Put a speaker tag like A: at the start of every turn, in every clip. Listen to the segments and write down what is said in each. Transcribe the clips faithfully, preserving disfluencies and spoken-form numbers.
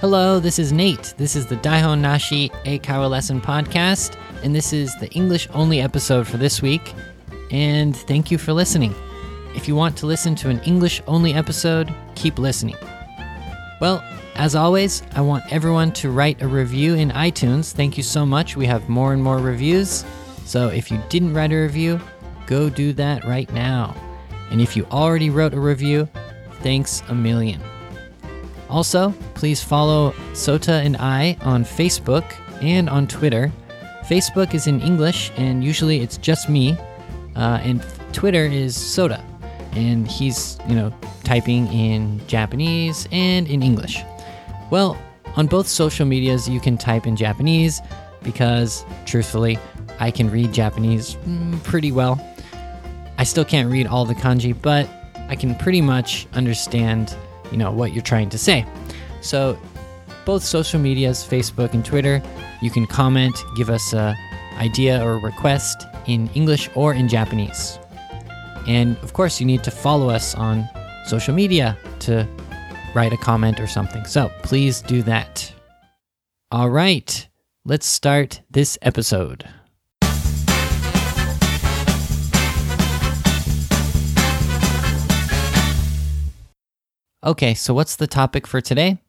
A: Hello, this is Nate. This is the Daihon Nashi Eikaiwa Lesson Podcast, and this is the English-only episode for this week, and thank you for listening. If you want to listen to an English-only episode, keep listening. Well, as always, I want everyone to write a review in iTunes. Thank you so much. We have more and more reviews, so if you didn't write a review, go do that right now. And if you already wrote a review, thanks a million. Also, please follow Sota and I on Facebook and on Twitter. Facebook is in English, and usually it's just me. Uh, and Twitter is Sota, and he's, you know, typing in Japanese and in English. Well, on both social medias, you can type in Japanese because, truthfully, I can read Japanese mm, pretty well. I still can't read all the kanji, but I can pretty much understand you know, what you're trying to say. So both social medias, Facebook and Twitter, you can comment, give us an idea or a request in English or in Japanese. And of course, you need to follow us on social media to write a comment or something. So please do that. All right, let's start this episode. Okay, so what's the topic for today?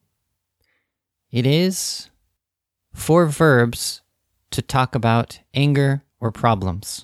A: It is four verbs to talk about anger or problems.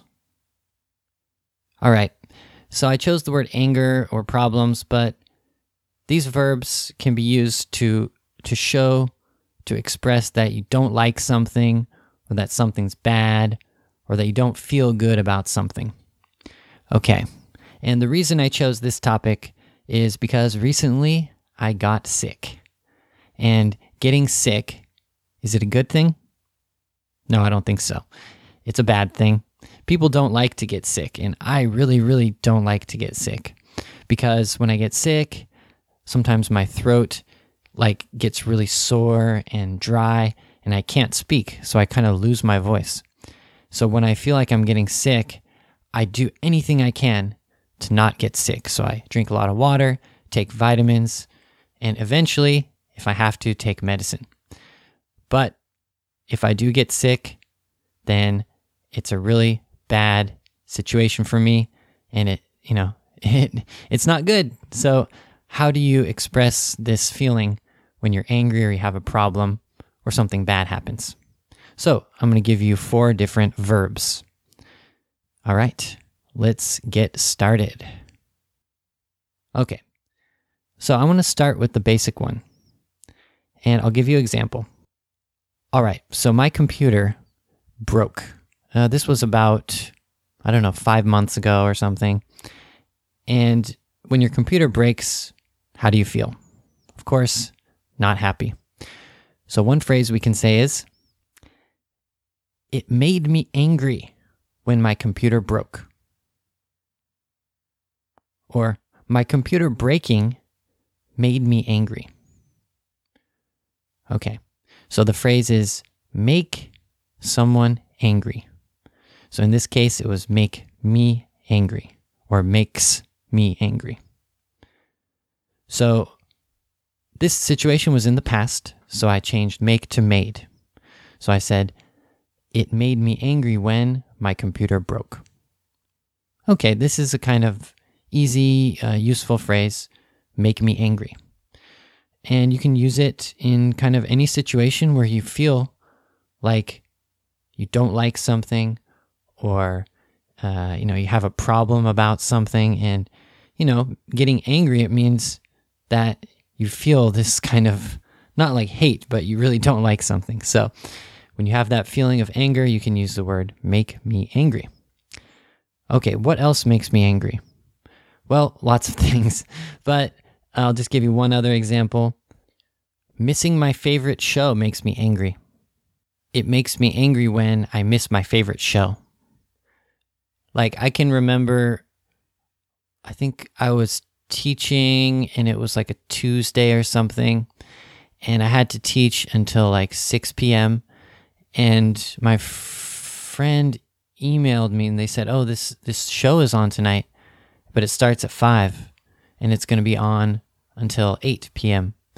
A: All right, so I chose the word anger or problems, but these verbs can be used to, to show, to express that you don't like something, or that something's bad, or that you don't feel good about something. Okay, and the reason I chose this topic is because recently I got sick. And getting sick, is it a good thing? No, I don't think so. It's a bad thing. People don't like to get sick, and I really, really don't like to get sick. Because when I get sick, sometimes my throat like gets really sore and dry, and I can't speak, so I kind of lose my voice. So when I feel like I'm getting sick, I do anything I can to not get sick. So I drink a lot of water, take vitamins, and eventually, if I have to, take medicine. But if I do get sick, then it's a really bad situation for me, and it, you know, it it's not good. So how do you express this feeling when you're angry or you have a problem or something bad happens? So I'm going to give you four different verbs. All right. Let's get started. Okay, so I want to start with the basic one, and I'll give you an example. All right, so my computer broke. Uh, this was about, I don't know, five months ago or something. And when your computer breaks, how do you feel? Of course, not happy. So one phrase we can say is, "It made me angry when my computer broke." Or, "My computer breaking made me angry." Okay, so the phrase is make someone angry. So in this case, it was make me angry, or makes me angry. So this situation was in the past, so I changed make to made. So I said, "It made me angry when my computer broke." Okay, this is a kind of easy, uh, useful phrase, make me angry. And you can use it in kind of any situation where you feel like you don't like something, or, uh, you know, you have a problem about something, and, you know, getting angry, it means that you feel this kind of, not like hate, but you really don't like something. So when you have that feeling of anger, you can use the word make me angry. Okay, what else makes me angry? Well, lots of things, but I'll just give you one other example. Missing my favorite show makes me angry. It makes me angry when I miss my favorite show. Like, I can remember, I think I was teaching, and it was like a Tuesday or something, and I had to teach until like six p.m., and my f- friend emailed me, and they said, oh, this, this show is on tonight, but it starts at five, and it's going to be on until eight p.m.,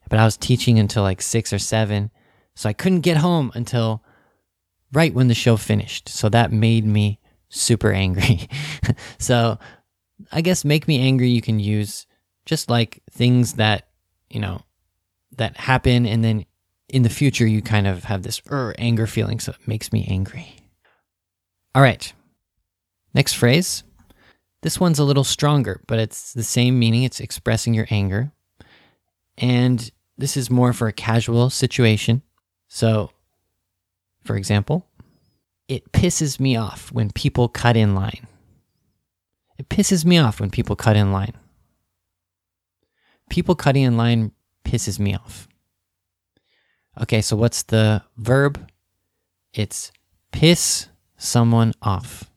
A: but I was teaching until like six or seven. So I couldn't get home until right when the show finished. So that made me super angry. So I guess make me angry you can use just like things that, you know, that happen and then in the future you kind of have this er, anger feeling, so it makes me angry. All right. Next phrase. This one's a little stronger, but it's the same meaning. It's expressing your anger. And this is more for a casual situation. So, for example, it pisses me off when people cut in line. It pisses me off when people cut in line. People cutting in line pisses me off. Okay, so what's the verb? It's piss someone off.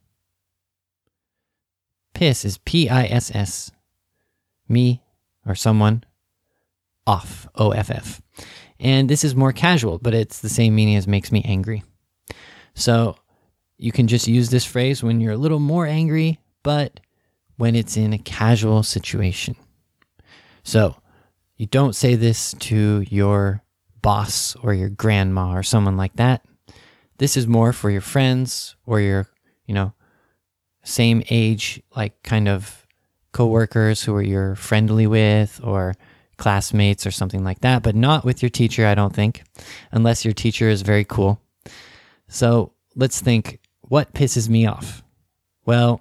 A: Piss is P I S S. Me or someone off. O F F. And this is more casual, but it's the same meaning as makes me angry. So you can just use this phrase when you're a little more angry, but when it's in a casual situation. So you don't say this to your boss or your grandma or someone like that. This is more for your friends or your, you know, same age, like kind of coworkers who are you're friendly with or classmates or something like that, but not with your teacher, I don't think, unless your teacher is very cool. So let's think, what pisses me off? Well,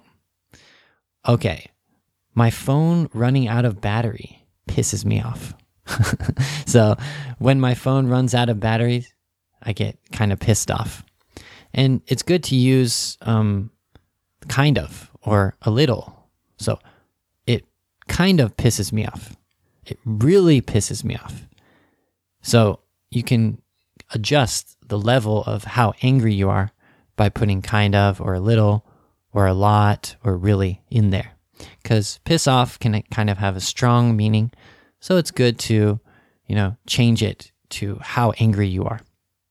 A: okay, my phone running out of battery pisses me off. So when my phone runs out of batteries, I get kind of pissed off. And it's good to use um, kind of or a little. So it kind of pisses me off. It really pisses me off. So you can adjust the level of how angry you are by putting kind of or a little or a lot or really in there. Because piss off can kind of have a strong meaning. So it's good to, you know, change it to how angry you are.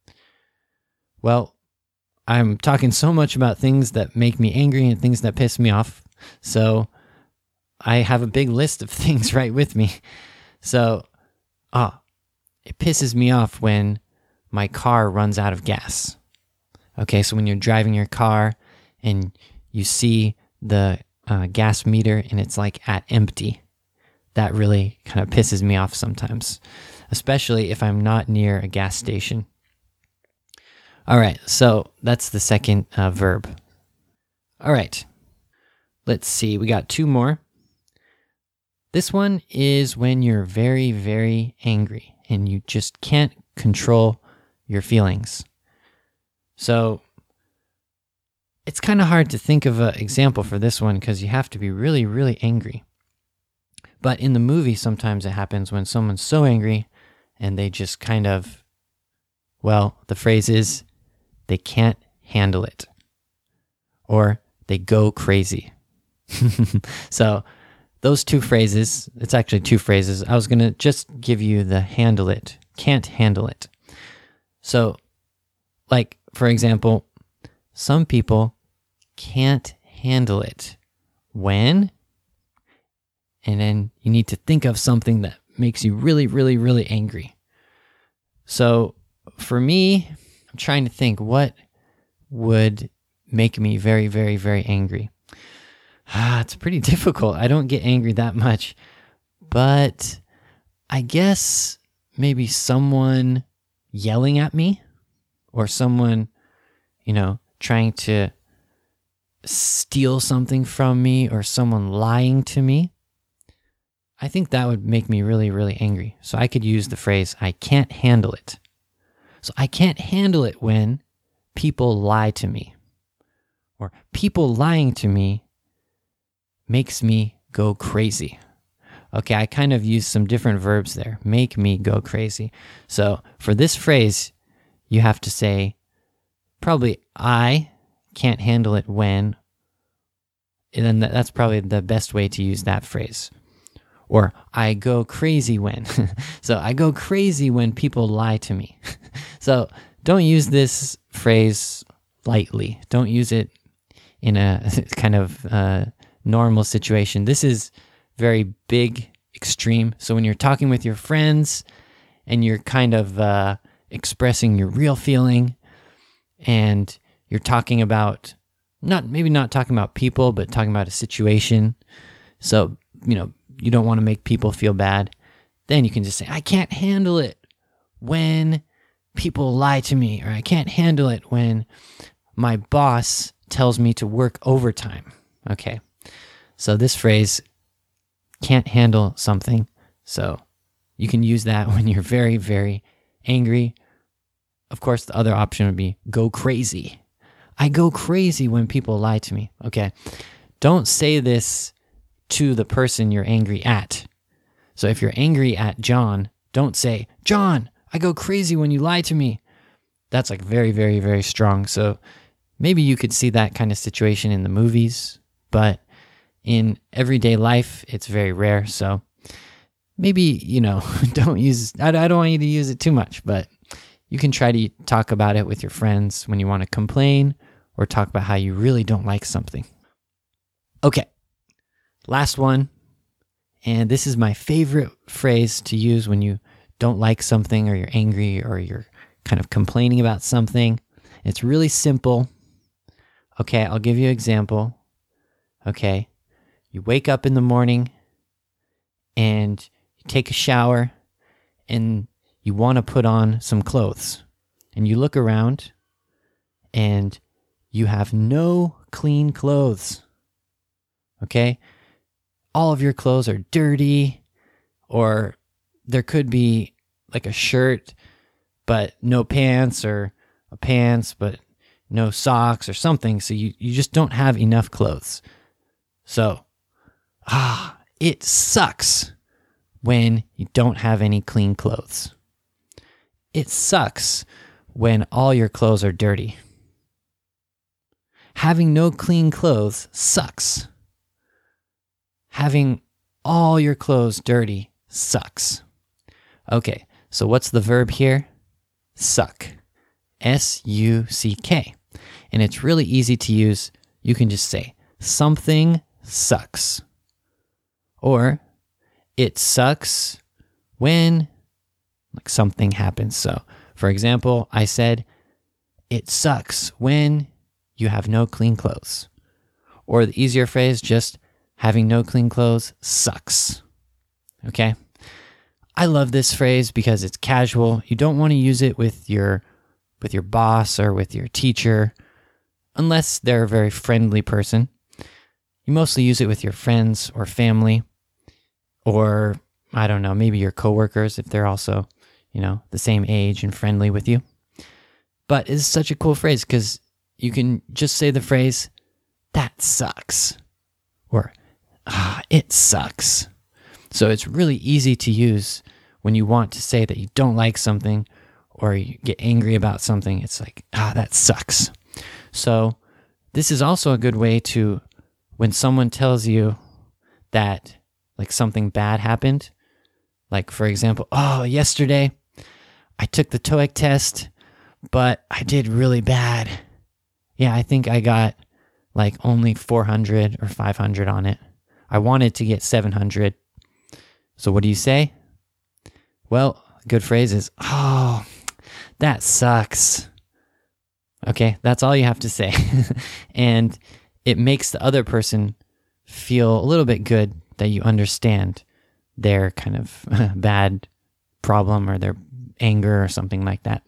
A: Well, I'm talking so much about things that make me angry and things that piss me off. So I have a big list of things right with me. So, ah, it pisses me off when my car runs out of gas. Okay, so when you're driving your car and you see the uh, gas meter and it's like at empty, that really kind of pisses me off sometimes, especially if I'm not near a gas station. All right, so that's the second uh, verb. All right, let's see. We got two more. This one is when you're very, very angry and you just can't control your feelings. So it's kind of hard to think of an example for this one because you have to be really, really angry. But in the movie, sometimes it happens when someone's so angry and they just kind of, well, the phrase is, they can't handle it. Or they go crazy. So those two phrases, it's actually two phrases. I was going to just give you the handle it, can't handle it. So, like, for example, some people can't handle it when, and then you need to think of something that makes you really, really, really angry. So for me, I'm trying to think what would make me very, very, very angry. Ah, it's pretty difficult. I don't get angry that much, but I guess maybe someone yelling at me or someone, you know, trying to steal something from me or someone lying to me. I think that would make me really, really angry. So I could use the phrase, I can't handle it. So I can't handle it when people lie to me. Or people lying to me makes me go crazy. Okay, I kind of use some different verbs there. Make me go crazy. So for this phrase, you have to say, probably I can't handle it when, and then that's probably the best way to use that phrase. Or I go crazy when. So I go crazy when people lie to me. So don't use this phrase lightly. Don't use it in a kind of uh, normal situation. This is very big, extreme. So when you're talking with your friends and you're kind of uh, expressing your real feeling, and you're talking about, not maybe not talking about people, but talking about a situation. So, you know, you don't want to make people feel bad. Then you can just say, I can't handle it when people lie to me, or I can't handle it when my boss tells me to work overtime. Okay. So this phrase, can't handle something. So you can use that when you're very, very angry. Of course, the other option would be go crazy. I go crazy when people lie to me. Okay. Don't say this to the person you're angry at. So if you're angry at John, don't say, John, I go crazy when you lie to me. That's like very, very, very strong. So maybe you could see that kind of situation in the movies, but in everyday life, it's very rare. So maybe, you know, don't use, I, I don't want you to use it too much, but you can try to talk about it with your friends when you want to complain or talk about how you really don't like something. Okay, last one. And this is my favorite phrase to use when you don't like something or you're angry or you're kind of complaining about something. It's really simple. Okay, I'll give you an example. Okay, you wake up in the morning and you take a shower and you want to put on some clothes. And you look around and you have no clean clothes. Okay? All of your clothes are dirty, or there could be like a shirt, but no pants, or a pants, but no socks or something. So you, you just don't have enough clothes. So, ah, it sucks when you don't have any clean clothes. It sucks when all your clothes are dirty. Having no clean clothes sucks. Having all your clothes dirty sucks. Okay, so what's the verb here? Suck. S U C K. And it's really easy to use. You can just say, something sucks. Or, it sucks when like something happens. So, for example, I said, it sucks when you have no clean clothes. Or the easier phrase, just having no clean clothes sucks. Okay? I love this phrase because it's casual. You don't want to use it with your with your boss or with your teacher unless they're a very friendly person. You mostly use it with your friends or family, or I don't know, maybe your coworkers if they're also, you know, the same age and friendly with you. But it's such a cool phrase because you can just say the phrase, that sucks, or ah, it sucks. So it's really easy to use when you want to say that you don't like something or you get angry about something. It's like, ah, that sucks. So this is also a good way to, when someone tells you that like something bad happened, like for example, oh, yesterday I took the TOEIC test, but I did really bad. Yeah, I think I got like only four hundred or five hundred on it. I wanted to get seven hundred. So what do you say? Well, a good phrase is, oh, that sucks. Okay, that's all you have to say. And it makes the other person feel a little bit good that you understand their kind of bad problem or their anger or something like that.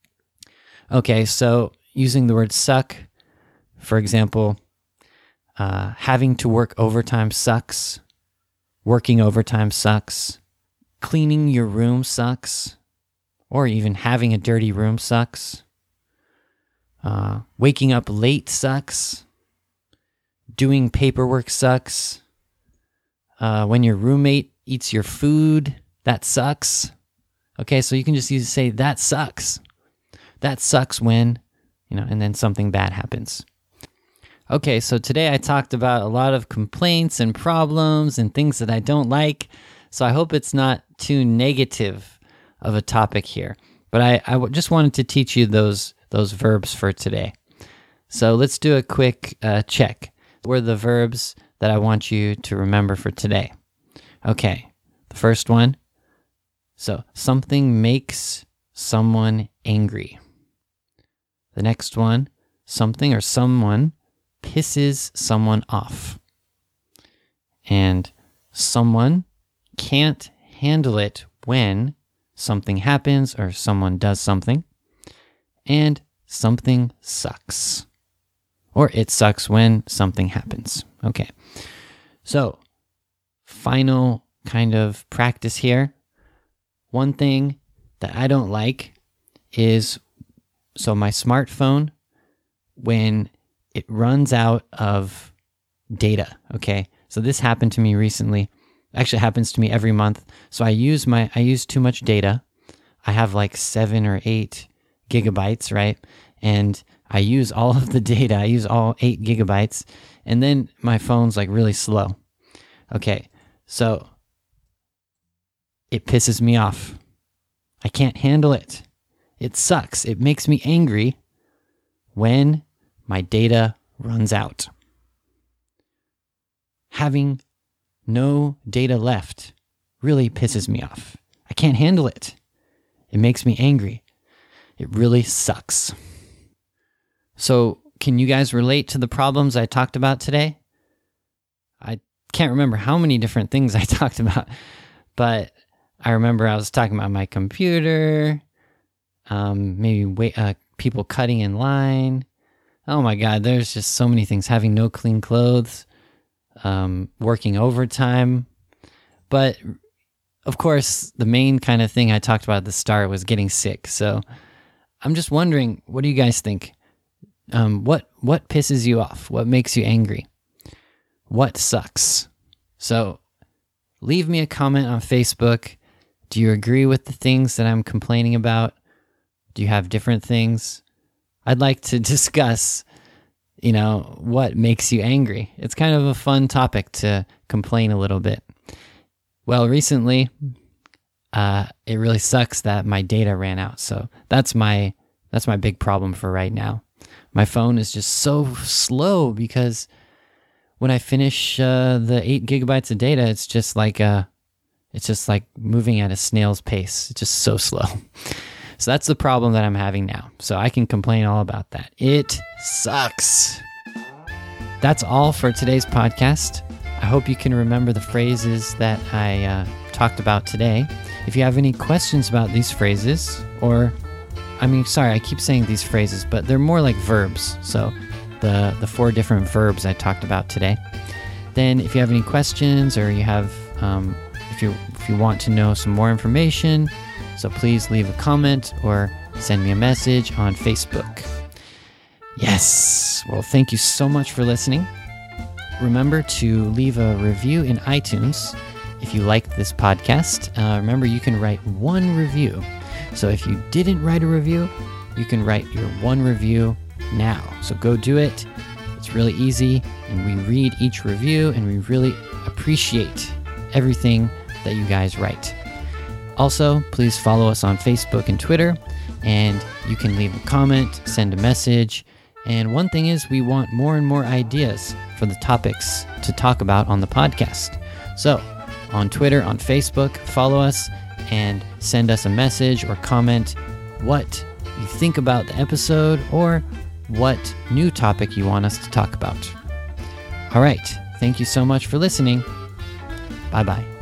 A: Okay, so using the word suck, for example, uh, having to work overtime sucks. Working overtime sucks. Cleaning your room sucks. Or even having a dirty room sucks. Uh, waking up late sucks. Doing paperwork sucks. Uh, when your roommate eats your food, that sucks. Okay, so you can just use say, that sucks. That sucks when, you know, and then something bad happens. Okay, so today I talked about a lot of complaints and problems and things that I don't like. So I hope it's not too negative of a topic here. But I, I just wanted to teach you those those verbs for today. So let's do a quick uh, check. What are the verbs that I want you to remember for today? Okay, the first one, So something makes someone angry. The next one, something or someone pisses someone off. And someone can't handle it when something happens or someone does something. And something sucks. Or it sucks when something happens. Okay. So, final kind of practice here. One thing that I don't like is, so my smartphone, when it runs out of data, okay? So this happened to me recently. Actually, it happens to me every month. So I use my, I use too much data. I have like seven or eight gigabytes, right? And I use all of the data. I use all eight gigabytes. And then my phone's like really slow. Okay, so it pisses me off. I can't handle it. It sucks. It makes me angry when my data runs out. Having no data left really pisses me off. I can't handle it. It makes me angry. It really sucks. So, can you guys relate to the problems I talked about today? I can't remember how many different things I talked about, but I remember I was talking about my computer, um, maybe wait, uh, people cutting in line. Oh my God, there's just so many things. Having no clean clothes, um, working overtime. But of course, the main kind of thing I talked about at the start was getting sick. So I'm just wondering, what do you guys think? Um, what what pisses you off? What makes you angry? What sucks? So leave me a comment on Facebook. Do you agree with the things that I'm complaining about? Do you have different things? I'd like to discuss, you know, what makes you angry. It's kind of a fun topic to complain a little bit. Well, recently, uh, it really sucks that my data ran out. So that's my that's my big problem for right now. My phone is just so slow because when I finish uh, the eight gigabytes of data, it's just like uh, it's just like moving at a snail's pace. It's just so slow. So that's the problem that I'm having now. So I can complain all about that. It sucks. That's all for today's podcast. I hope you can remember the phrases that I uh, talked about today. If you have any questions about these phrases, or, I mean, sorry, I keep saying these phrases, but they're more like verbs. So the, the four different verbs I talked about today. Then if you have any questions, or you have, um, if you if you want to know some more information, so please leave a comment or send me a message on Facebook. Yes. Well, thank you so much for listening. Remember to leave a review in iTunes if you like this podcast. Uh, remember, you can write one review. So if you didn't write a review, you can write your one review now. So go do it. It's really easy, and we read each review, and we really appreciate everything that you guys write. Also, please follow us on Facebook and Twitter, and you can leave a comment, send a message. And one thing is, we want more and more ideas for the topics to talk about on the podcast. So, on Twitter, on Facebook, follow us and send us a message or comment what you think about the episode or what new topic you want us to talk about. All right. Thank you so much for listening. Bye-bye.